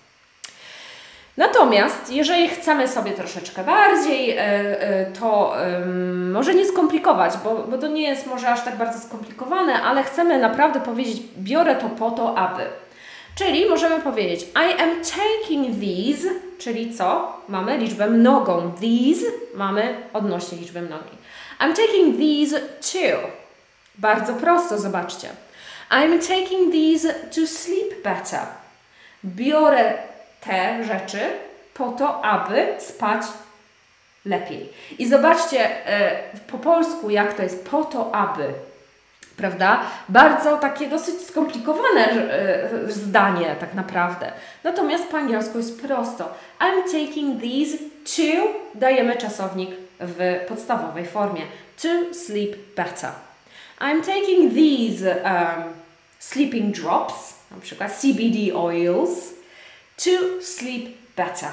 Natomiast jeżeli chcemy sobie troszeczkę bardziej to może nie skomplikować, bo to nie jest może aż tak bardzo skomplikowane, ale chcemy naprawdę powiedzieć biorę to po to, aby. Czyli możemy powiedzieć I am taking these, czyli co? Mamy liczbę mnogą. These mamy odnośnie liczby mnogiej. I'm taking these to. Bardzo prosto, zobaczcie. I'm taking these to sleep better. Biorę te rzeczy po to, aby spać lepiej. I zobaczcie po polsku, jak to jest po to, aby. Prawda? Bardzo takie dosyć skomplikowane zdanie tak naprawdę. Natomiast po angielsku jest prosto. I'm taking these to, dajemy czasownik w podstawowej formie. To sleep better. I'm taking these sleeping drops, na przykład CBD oils, to sleep better.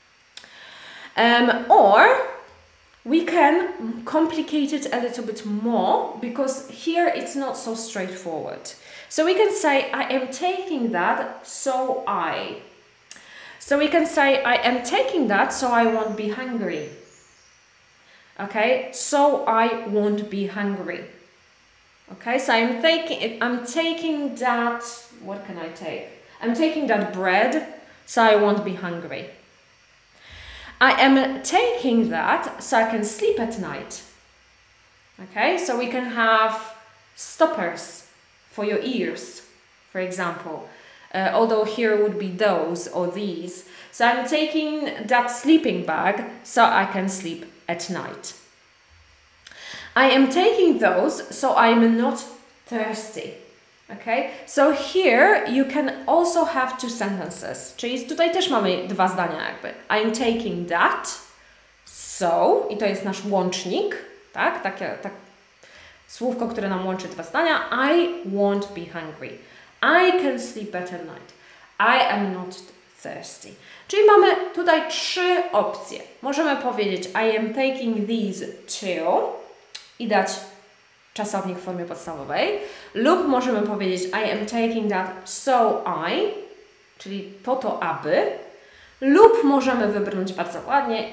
Or we can complicate it a little bit more because here it's not so straightforward. So we can say I am taking that so I. So we can say I am taking that so I won't be hungry. Okay, so I won't be hungry. Okay, so I'm taking that, what can I take? I'm taking that bread so I won't be hungry. I am taking that so I can sleep at night. Okay, so we can have stoppers for your ears, for example. Although here would be those or these. So I'm taking that sleeping bag so I can sleep at night. I am taking those so I'm not thirsty. Okay, so here you can also have two sentences. Czyli tutaj też mamy dwa zdania jakby. I'm taking that, so, i to jest nasz łącznik, tak? Tak słówko, które nam łączy dwa zdania. I won't be hungry. I can sleep better at night. I am not thirsty. Czyli mamy tutaj trzy opcje. Możemy powiedzieć I am taking these to i dać czasownik w formie podstawowej, lub możemy powiedzieć I am taking that so I, czyli po to aby, lub możemy wybrnąć bardzo ładnie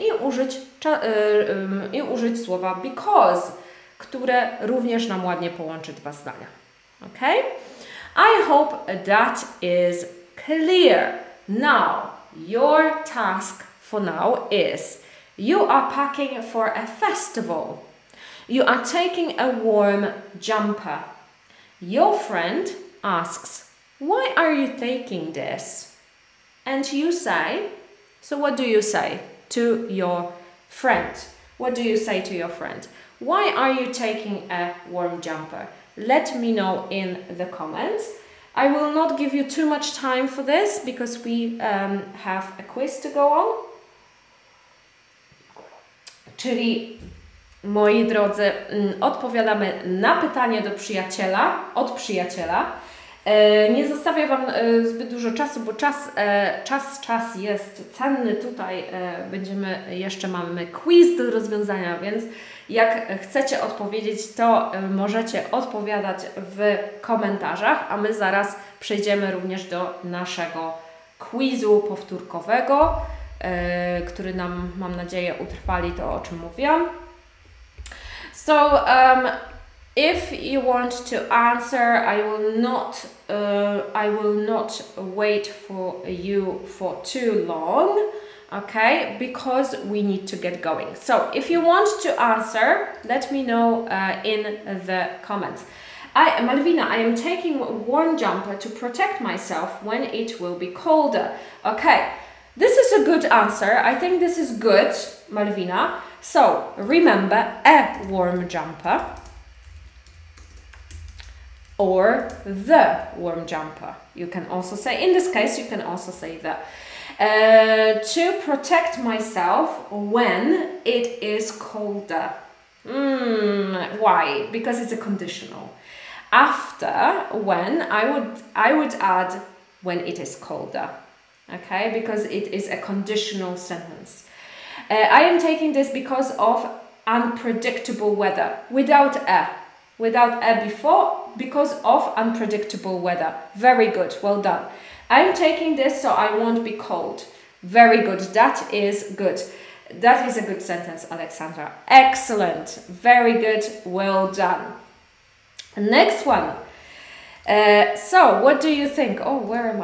i użyć słowa because, które również nam ładnie połączy dwa zdania. Ok? I hope that is clear. Now, your task for now is you are packing for a festival. You are taking a warm jumper. Your friend asks, why are you taking this? And you say, so what do you say to your friend? What do you say to your friend? Why are you taking a warm jumper? Let me know in the comments. I will not give you too much time for this because we have a quiz to go on. Czyli moi drodzy, odpowiadamy na pytanie od przyjaciela. Nie zostawię Wam zbyt dużo czasu, bo czas jest cenny. Tutaj mamy quiz do rozwiązania, więc jak chcecie odpowiedzieć, to możecie odpowiadać w komentarzach, a my zaraz przejdziemy również do naszego quizu powtórkowego, który nam, mam nadzieję, utrwali to, o czym mówiłam. So, if you want to answer, I will not wait for you for too long, okay? Because we need to get going. So, if you want to answer, let me know in the comments. Malvina, I am taking a warm jumper to protect myself when it will be colder. Okay, this is a good answer. I think this is good, Malvina. So, remember a warm jumper or the warm jumper. You can also say, in this case, you can also say the. To protect myself when it is colder. Why? Because it's a conditional. After, when, I would add when it is colder. Okay, because it is a conditional sentence. I am taking this because of unpredictable weather. Without a before, because of unpredictable weather. Very good, well done. I'm taking this so I won't be cold. Very good, that is good. That is a good sentence, Alexandra. Excellent, very good, well done. Next one. So, what do you think? Oh, where am I?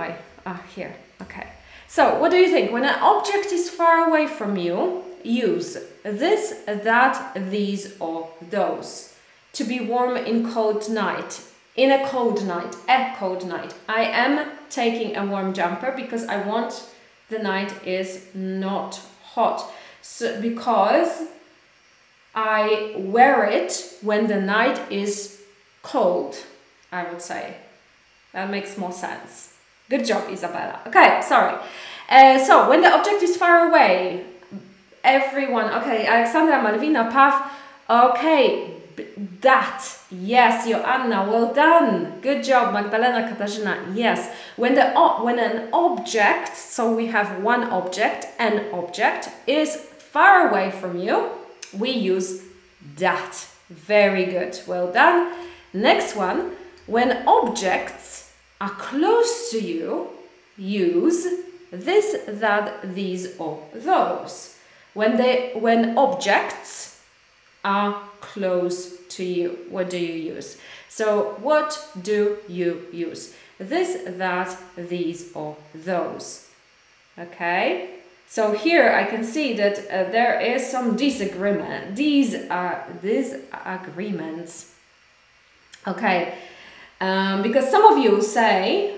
Here. Okay. So what do you think? When an object is far away from you, use this, that, these, or those. To be warm in cold night. In a cold night. A cold night. I am taking a warm jumper because I want the night is not hot. So because I wear it when the night is cold, I would say. That makes more sense. Good job, Isabella. Okay, sorry. So, when the object is far away, everyone, okay, Alexandra, Malvina, Pav, okay, that, yes, Joanna, well done. Good job, Magdalena, Katarzyna, yes. When an object, so we have one object, an object, is far away from you, we use that. Very good, well done. Next one, when objects are close to you, use this, that, these, or those. When objects are close to you, what do you use? So what do you use? This, that, these, or those. Okay? So here I can see that there is some disagreement. These agreements. Okay, because some of you say,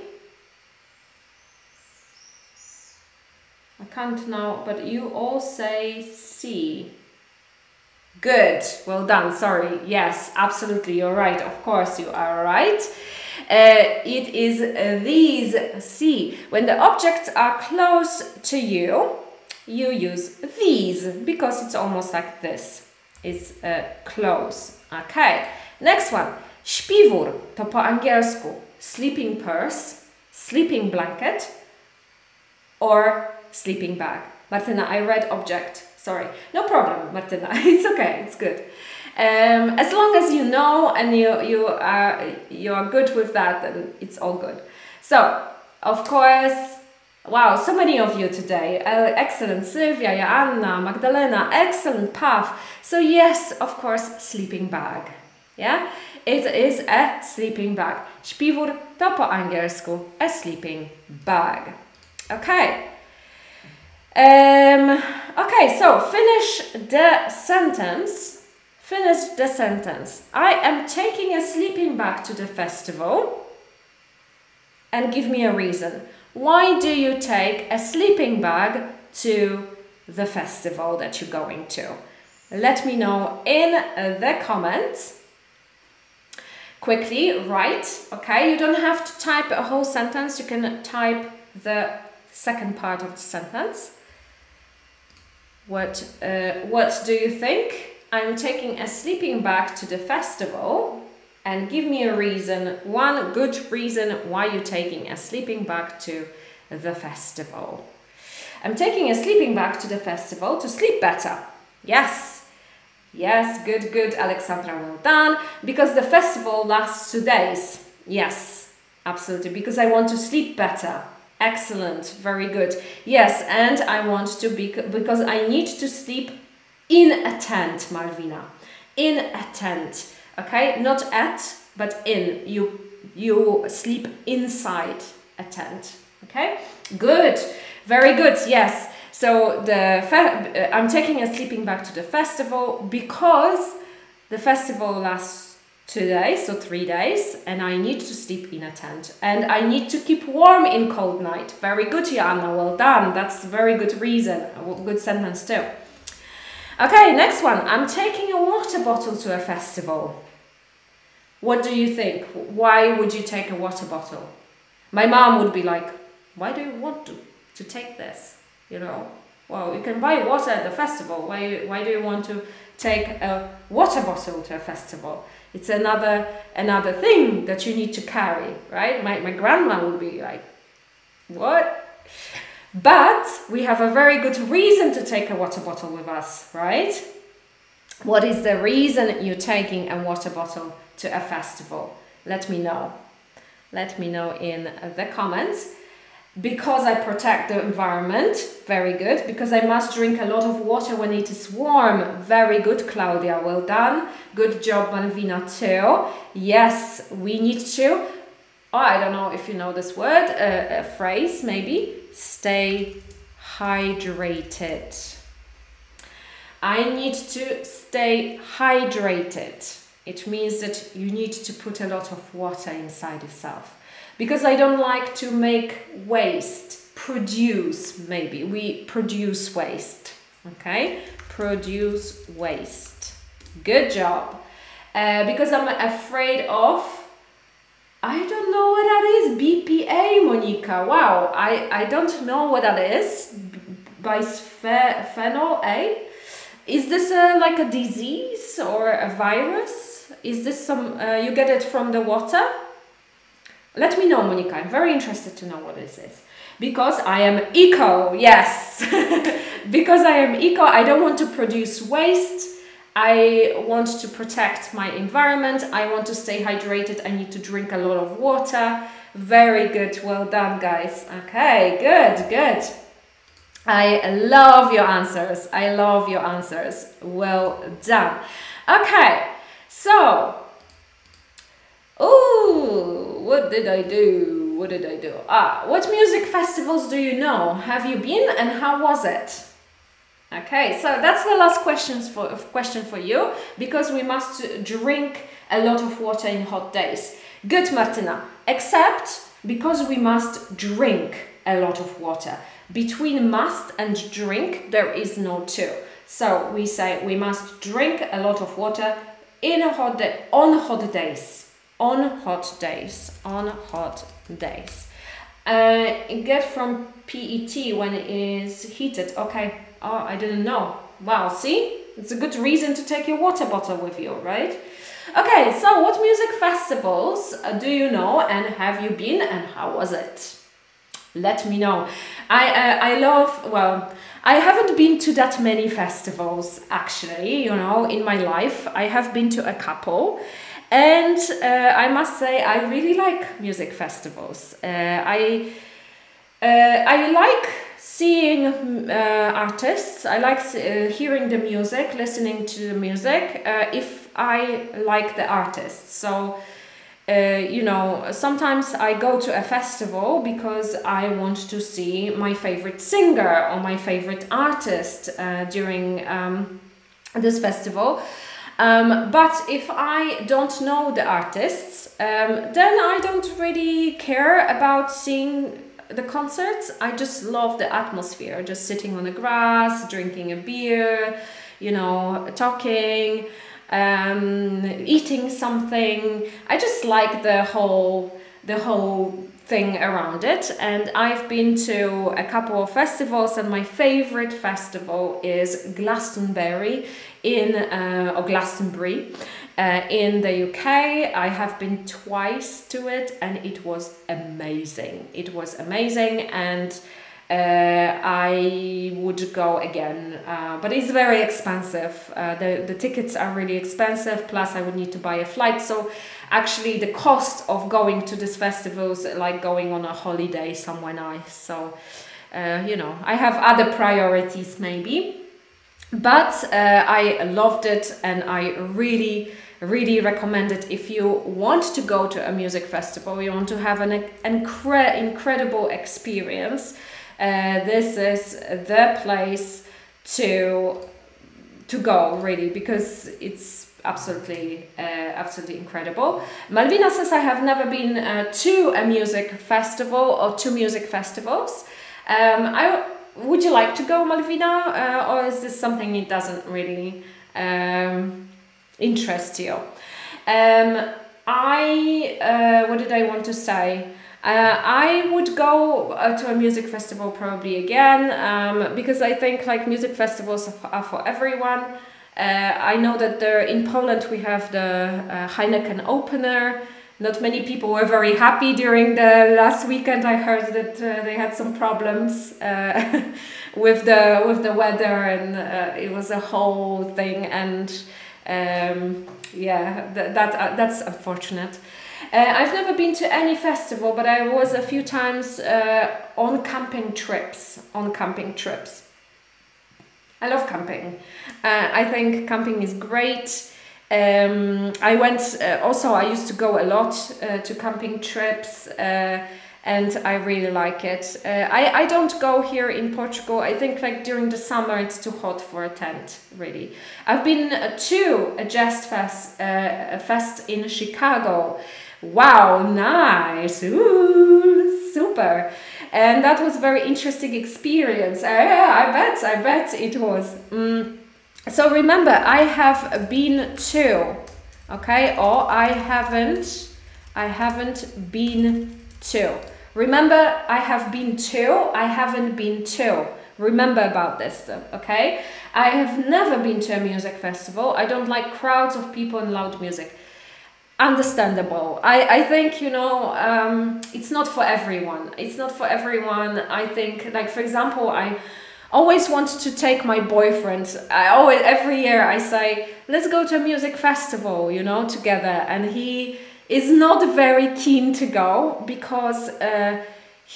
I can't now, but you all say C. Good, well done, sorry. Yes, absolutely, you're right. Of course you are right. It is these C. When the objects are close to you, you use these because it's almost like this. It's close. Okay, next one. Śpiwór to po angielsku sleeping purse, sleeping blanket, or sleeping bag. Martyna, I read object. Sorry. No problem, Martyna. It's okay. It's good. As long as you know and you are good with that, then it's all good. So, of course, wow, so many of you today. Excellent. Sylvia, Joanna, Magdalena, excellent, Pav. So yes, of course, sleeping bag. Yeah? It is a sleeping bag. Śpiwór to po angielsku a sleeping bag. Okay. Okay, so finish the sentence. Finish the sentence. I am taking a sleeping bag to the festival. And give me a reason. Why do you take a sleeping bag to the festival that you're going to? Let me know in the comments. Quickly write, okay? You don't have to type a whole sentence. You can type the second part of the sentence. What do you think? I'm taking a sleeping bag to the festival. And give me a reason, one good reason why you're taking a sleeping bag to the festival. I'm taking a sleeping bag to the festival to sleep better. Yes. Yes, good, good, Alexandra, well done. Because the festival lasts 2 days. Yes, absolutely. Because I want to sleep better. Excellent, very good. Yes, and I want to because I need to sleep in a tent, Malvina. In a tent. Okay, not at, but in. You sleep inside a tent. Okay, good, very good. Yes. So I'm taking a sleeping bag to the festival because the festival lasts 2 days, so 3 days, and I need to sleep in a tent. And I need to keep warm in cold night. Very good, Joanna. Well done. That's a very good reason. A good sentence too. Okay, next one. I'm taking a water bottle to a festival. What do you think? Why would you take a water bottle? My mom would be like, why do you want to take this? You know, well, you can buy water at the festival. Why do you want to take a water bottle to a festival? It's another thing that you need to carry, right? My grandma would be like, what? But we have a very good reason to take a water bottle with us, right? What is the reason you're taking a water bottle to a festival? Let me know. Let me know in the comments. Because I protect the environment, very good. Because I must drink a lot of water when it is warm, very good, Claudia, well done. Good job, Malvina, too. Yes, we need to or I don't know if you know this word, a phrase maybe, stay hydrated. I need to stay hydrated. It means that you need to put a lot of water inside yourself. Because I don't like to make waste, produce maybe. We produce waste, okay? Produce waste. Good job. Because I'm afraid of, I don't know what that is, BPA, Monica. Wow, I don't know what that is. Bisphenol A. Is this like a disease or a virus? Is this some, you get it from the water? Let me know, Monica. I'm very interested to know what this is. Because I am eco, yes. Because I am eco, I don't want to produce waste. I want to protect my environment. I want to stay hydrated. I need to drink a lot of water. Very good. Well done, guys. Okay, good, good. I love your answers. I love your answers. Well done. Okay, so, ooh, what did I do? What did I do? What music festivals do you know? Have you been and how was it? Okay, so that's the last question for you, because we must drink a lot of water in hot days. Good, Martina. Except because we must drink a lot of water. Between must and drink, there is no two. So we say we must drink a lot of water in a hot day, on hot days. On hot days. On hot days. Get from PET when it is heated. Okay. Oh, I didn't know. Wow, see? It's a good reason to take your water bottle with you, right? Okay, so what music festivals do you know and have you been and how was it? Let me know. I love, well, I haven't been to that many festivals actually, you know, in my life. I have been to a couple and I must say I really like music festivals. I like seeing artists. I like hearing the music, listening to the music, if I like the artists. So, you know, sometimes I go to a festival because I want to see my favorite singer or my favorite artist during this festival. But if I don't know the artists, then I don't really care about seeing the concerts. I just love the atmosphere, just sitting on the grass, drinking a beer, you know, talking, eating something. I just like the whole thing around it. And I've been to a couple of festivals, and my favorite festival is Glastonbury or Glastonbury in the UK. I have been twice to it and it was amazing. It was amazing, and I would go again, but it's very expensive. The tickets are really expensive, plus I would need to buy a flight. So actually the cost of going to this festival is like going on a holiday somewhere nice. So you know, I have other priorities maybe, but I loved it, and I really recommend it if you want to go to a music festival, you want to have an incredible experience. This is the place to go, really, because it's absolutely incredible. Malvina says, I have never been to a music festival or two music festivals. Would you like to go, Malvina, or is this something that doesn't really interest you? What did I want to say? I would go to a music festival probably again, because I think like music festivals are for everyone. I know that in Poland we have the Heineken opener. Not many people were very happy during the last weekend. I heard that they had some problems with the weather, and it was a whole thing. And yeah, that's unfortunate. I've never been to any festival, but I was a few times on camping trips. I love camping. I think camping is great. I went, also I used to go a lot to camping trips, and I really like it. I don't go here in Portugal. I think like during the summer it's too hot for a tent, really. I've been to a Jazz Fest in Chicago. Wow, nice. Ooh, super. And that was a very interesting experience. I bet it was. So remember, I have been to, okay, or I haven't been to. Remember, I have been to, I haven't been to. Remember about this, okay? I have never been to a music festival. I don't like crowds of people and loud music. Understandable. I think, you know, it's not for everyone. It's not for everyone. I think, like, for example, I always want to take my boyfriend. Every year I say, let's go to a music festival, you know, together. And he is not very keen to go because I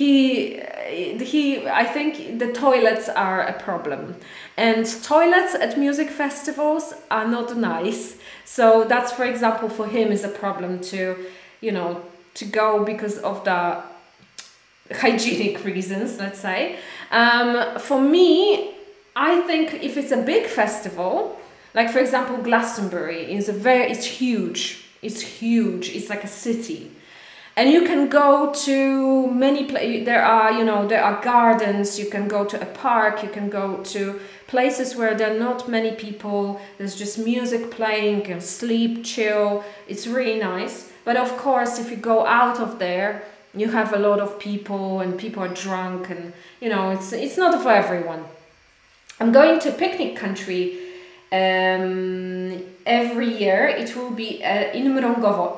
think the toilets are a problem. And toilets at music festivals are not nice. So that's, for example, for him is a problem to, you know, to go because of the hygienic reasons, let's say. For me, I think if it's a big festival, like for example, Glastonbury it's huge. It's huge. It's like a city. And you can go to many places. There are gardens. You can go to a park. You can go to places where there are not many people. There's just music playing. You can sleep, chill. It's really nice. But of course, if you go out of there, you have a lot of people and people are drunk, and you know it's not for everyone. I'm going to Picnic Country every year. It will be in Mrągowo.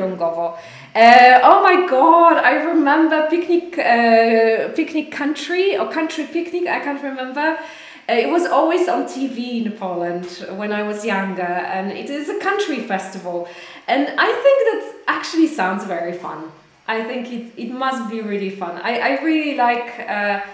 Oh my god, I remember Picnic Country or Country Picnic, I can't remember. It was always on TV in Poland when I was younger, and it is a country festival, and I think that actually sounds very fun. I think it must be really fun. I really like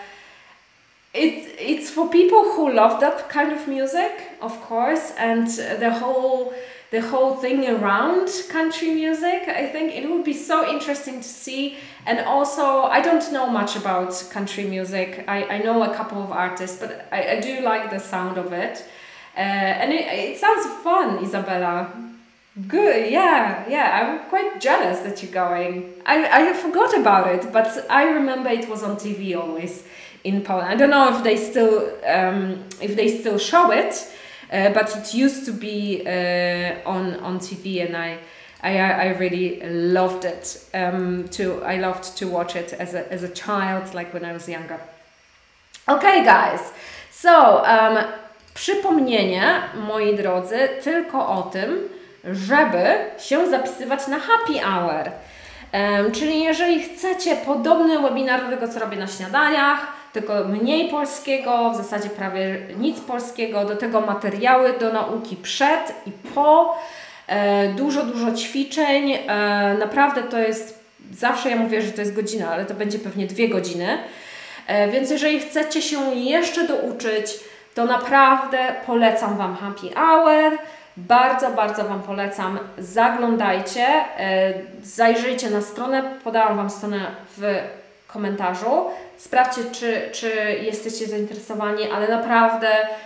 it's for people who love that kind of music, of course, and the whole thing around country music. I think it would be so interesting to see. And also, I don't know much about country music. I know a couple of artists, but I do like the sound of it. And it sounds fun, Isabella. Good, yeah. I'm quite jealous that you're going. I forgot about it, but I remember it was on TV always in Poland. I don't know if they still show it, but it used to be on TV, and I really loved it. I loved to watch it as a child, like when I was younger. Okay, guys. So przypomnienie, moi drodzy, tylko o tym, żeby się zapisywać na happy hour. Czyli jeżeli chcecie podobny webinar do tego, co robię na śniadaniach, tylko mniej polskiego, w zasadzie prawie nic polskiego, do tego materiały do nauki przed i po, dużo ćwiczeń, naprawdę to jest, zawsze ja mówię, że to jest godzina, ale to będzie pewnie 2 godziny, więc jeżeli chcecie się jeszcze douczyć, to naprawdę polecam Wam happy hour. Bardzo Wam polecam, zaglądajcie, zajrzyjcie na stronę, podałam Wam stronę w komentarzu, sprawdźcie, czy jesteście zainteresowani, ale naprawdę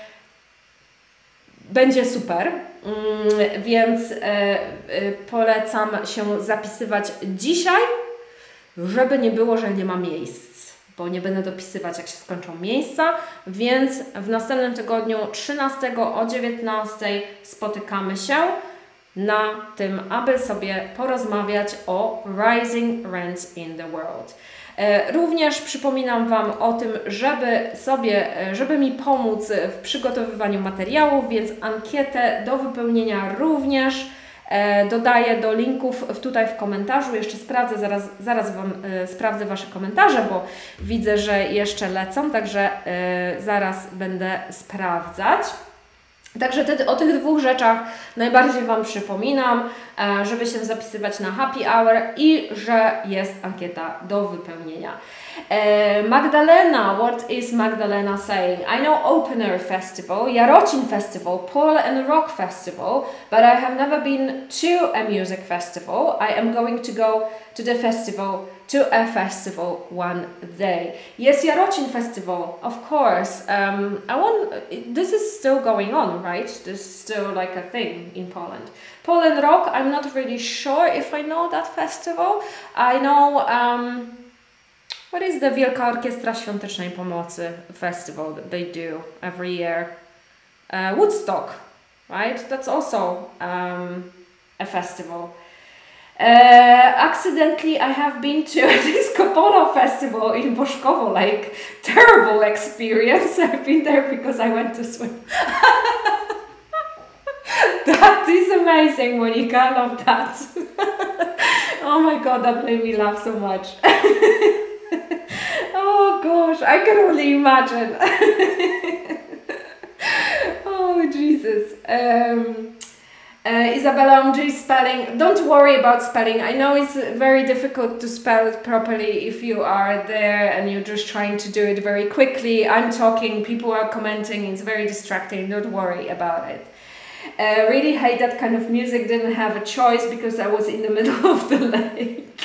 będzie super, więc polecam się zapisywać dzisiaj, żeby nie było, że nie ma miejsc, bo nie będę dopisywać, jak się skończą miejsca, więc w następnym tygodniu 13 o 19 spotykamy się na tym, aby sobie porozmawiać o Rising Rents in the World. Również przypominam Wam o tym, żeby mi pomóc w przygotowywaniu materiałów, więc ankietę do wypełnienia również dodaję do linków tutaj w komentarzu. Jeszcze sprawdzę, zaraz Wam sprawdzę Wasze komentarze, bo widzę, że jeszcze lecą, także zaraz będę sprawdzać. Także o tych dwóch rzeczach najbardziej Wam przypominam, żeby się zapisywać na happy hour i że jest ankieta do wypełnienia. Magdalena, what is Magdalena saying? I know Opener Festival, Jarocin Festival, Pole and Rock Festival, but I have never been to a music festival. I am going to go to the festival, to a festival one day. Yes, Jarocin Festival, of course. This is still going on, right? This is still like a thing in Poland. Pole and Rock, I'm not really sure if I know that festival. I know... what is the Wielka Orkiestra Świątecznej Pomocy festival that they do every year? Woodstock, right? That's also a festival. Accidentally, I have been to a Disco Polo festival in Boszkowo, like terrible experience. I've been there because I went to swim. That is amazing, Monika. I love that. Oh my God, that made me laugh so much. Oh gosh, I can only imagine. Oh Jesus. Isabella MG spelling. Don't worry about spelling. I know it's very difficult to spell it properly if you are there and you're just trying to do it very quickly. I'm talking, people are commenting, it's very distracting. Don't worry about it. Really hate that kind of music. Didn't have a choice because I was in the middle of the lake.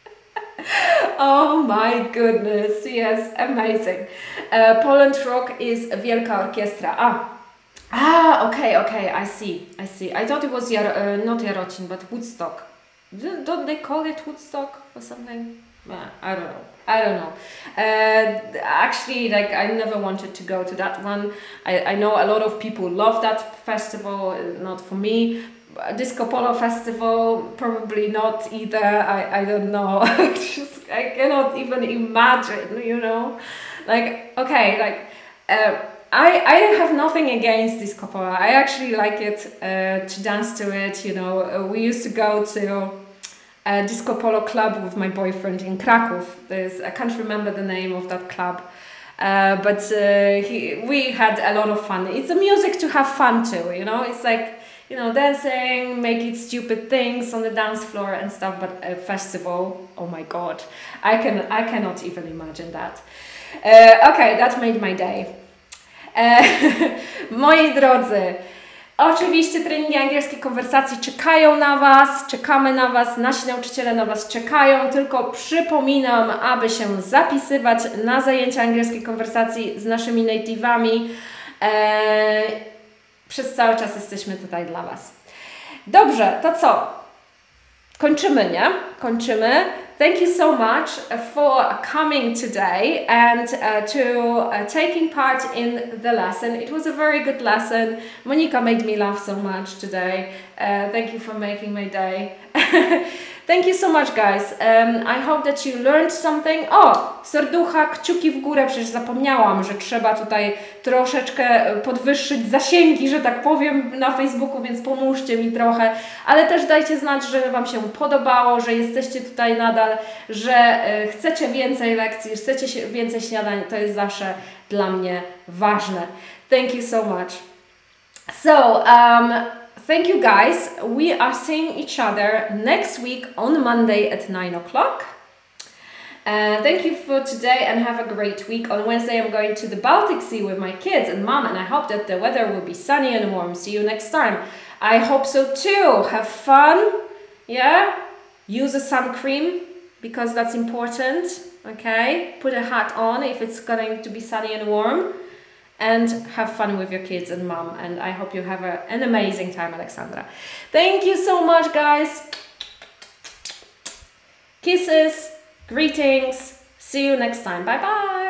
Oh my goodness, yes, amazing. Poland Rock is Wielka Orkiestra. Okay, I see. I thought it was not Jarocin, but Woodstock. Don't they call it Woodstock or something? I don't know. Actually, like, I never wanted to go to that one. I know a lot of people love that festival, not for me. Disco Polo Festival, probably not either. I don't know. I cannot even imagine, you know. Like, okay, like, I have nothing against Disco Polo. I actually like it, to dance to it, you know. We used to go to a Disco Polo club with my boyfriend in Kraków. I can't remember the name of that club. But we had a lot of fun. It's a music to have fun to, you know. It's like, you know, dancing, making stupid things on the dance floor and stuff, but a festival, oh my God, I cannot even imagine that. Okay, that made my day. Moi drodzy, oczywiście treningi angielskiej konwersacji czekają na Was, czekamy na Was, nasi nauczyciele na Was czekają, tylko przypominam, aby się zapisywać na zajęcia angielskiej konwersacji z naszymi native'ami. Przez cały czas jesteśmy tutaj dla Was. Dobrze, to co? Kończymy, nie? Kończymy. Thank you so much for coming today and to taking part in the lesson. It was a very good lesson. Monika made me laugh so much today. Thank you for making my day. Thank you so much, guys. I hope that you learned something. O, serducha, kciuki w górę, przecież zapomniałam, że trzeba tutaj troszeczkę podwyższyć zasięgi, że tak powiem, na Facebooku, więc pomóżcie mi trochę. Ale też dajcie znać, że Wam się podobało, że jesteście tutaj nadal, że chcecie więcej lekcji, chcecie więcej śniadań. To jest zawsze dla mnie ważne. Thank you so much. So, thank you guys. We are seeing each other next week on Monday at 9 o'clock. Thank you for today and have a great week. On Wednesday I'm going to the Baltic Sea with my kids and mom, and I hope that the weather will be sunny and warm. See you next time. I hope so too. Have fun. Yeah? Use a sun cream because that's important. Okay? Put a hat on if it's going to be sunny and warm. And have fun with your kids and mom. And I hope you have an amazing time, Alexandra. Thank you so much, guys. Kisses, greetings. See you next time. Bye-bye.